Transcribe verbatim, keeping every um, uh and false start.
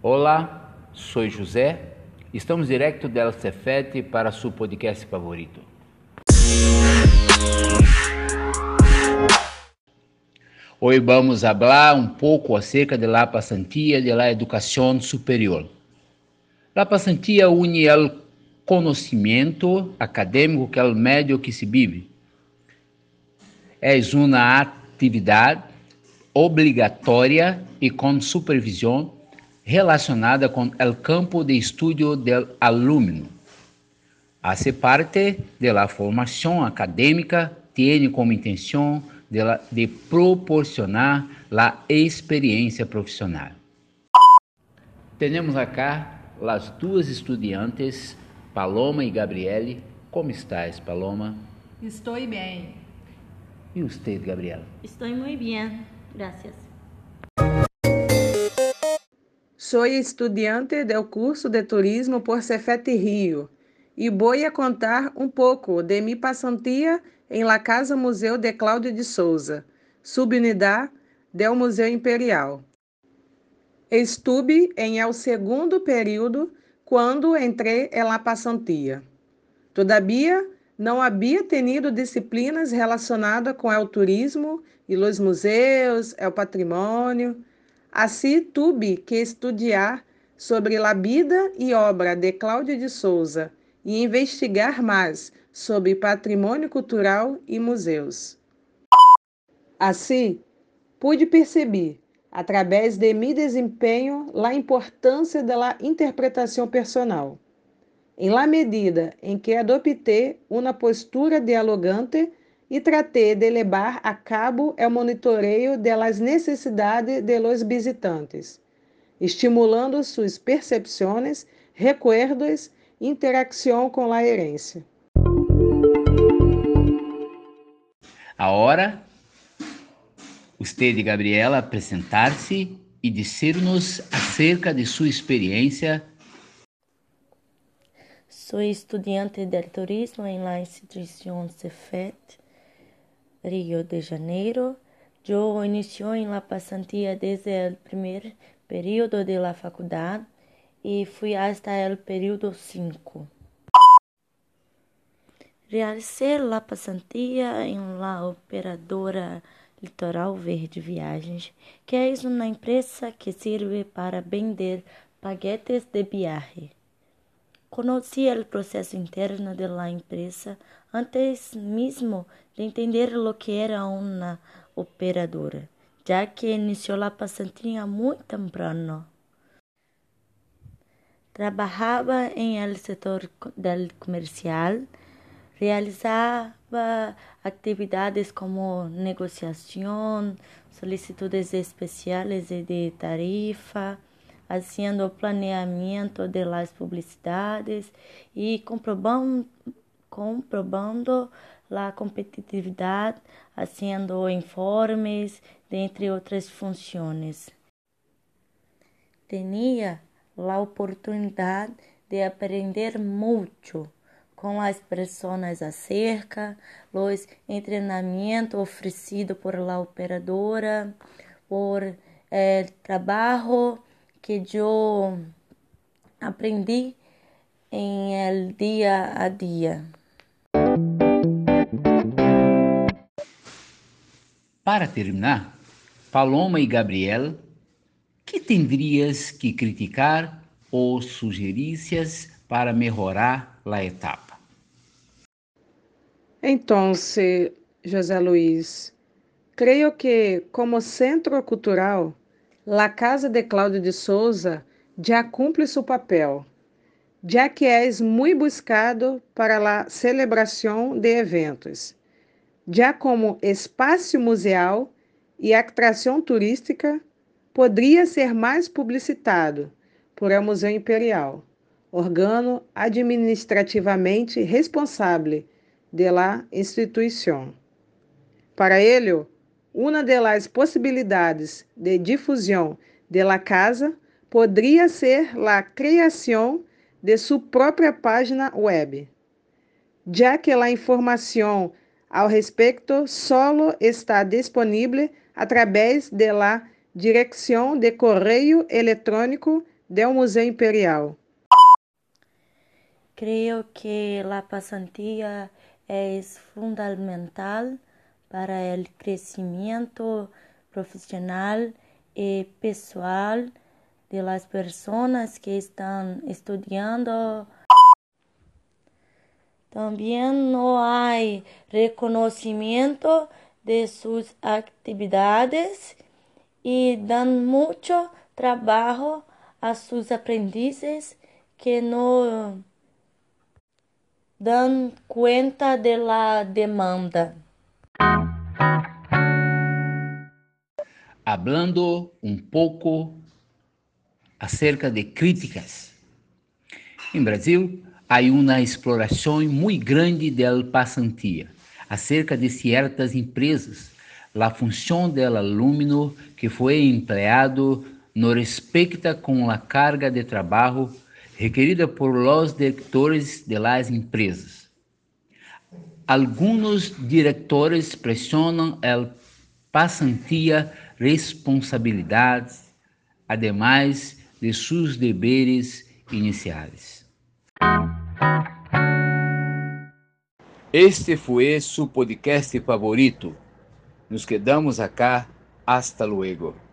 Olá, sou José. Estamos direto del Cefet para su podcast favorito. Hoy vamos a hablar un poco acerca de la pasantía de la educación superior. La pasantía une el conocimiento acadêmico que é o meio que se vive. É uma atividade obrigatória e com supervisão relacionada com o campo de estudo do aluno. Hace parte de la formação acadêmica, tem como intenção de, la, de proporcionar a experiência profissional. Temos acá as duas estudiantes, Paloma e Gabriele. Como estás, Paloma? Estou bem. E você, Gabriela? Estou muito bem, gracias. Sou estudante do curso de turismo por Cefet Rio e vou a contar um pouco de minha pasantía em la Casa Museu de Cláudio de Souza, subunidade do Museu Imperial. Estuve em el segundo período quando entrei em la pasantía. Todavia, não havia tenido disciplinas relacionadas com o turismo e os museus, o patrimônio. Assim, tive que estudar sobre a vida e obra de Cláudio de Souza e investigar mais sobre patrimônio cultural e museus. Assim, pude perceber, através de meu desempenho, a importância da interpretação personal. Em la medida em que adoptei uma postura dialogante e tratei de levar a cabo o monitoreio das necessidades de los visitantes, estimulando suas percepções, recuerdos e interação com a herência. Agora, você, Gabriela, apresentar-se e dizer-nos acerca de sua experiência. Sou estudante de turismo em la instituição Cefet, Rio de Janeiro. Eu iniciei em la pasantía desde o primeiro período de la faculdade e fui hasta o período cinco. Realicei la pasantía em la operadora Litoral Verde Viagens, que é uma empresa que serve para vender paquetes de viagem. Conheci o processo interno de la empresa antes mesmo de entender o que era uma operadora, já que iniciou a pasantía muito temprano. Trabalhava em el setor del comercial, realizava atividades como negociação, solicitudes especiais e de tarifa, haciendo planeamento de las publicidades e comprobando, comprobando la competitividade, haciendo informes, dentre outras funções. Tinha a oportunidade de aprender muito com as pessoas acerca dos treinamentos oferecidos por la operadora, por el trabalho que eu aprendi em el dia a dia. Para terminar, Paloma e Gabriel, que tendrías que criticar ou sugerícias para melhorar a etapa? Então, José Luiz, creio que, como centro cultural, La Casa de Cláudio de Souza já cumpre seu papel, já que és muito buscado para a celebração de eventos. Já como espaço museal e atração turística, poderia ser mais publicitado por el Museu Imperial, órgão administrativamente responsável de la instituição. Para ele, uma das possibilidades de difusão de la casa poderia ser a criação de sua própria página web, já que a informação ao respeito solo está disponível através de la direção de correio eletrônico del Museu Imperial. Creo que la pasantía es fundamental para el crecimiento profesional y pessoal de las personas que están estudiando. También no hay reconocimiento de sus actividades y dan mucho trabajo a sus aprendices que no dan cuenta de la demanda. Hablando um pouco acerca de críticas. Em Brasil, há uma exploração muito grande da pasantía acerca de certas empresas. A função do aluno que foi empregado não respeita com a carga de trabalho requerida por los diretores de las empresas. Alguns diretores pressionam a pasantía responsabilidades, ademais de seus deveres iniciais. Este foi seu podcast favorito. Nos quedamos acá. Hasta luego.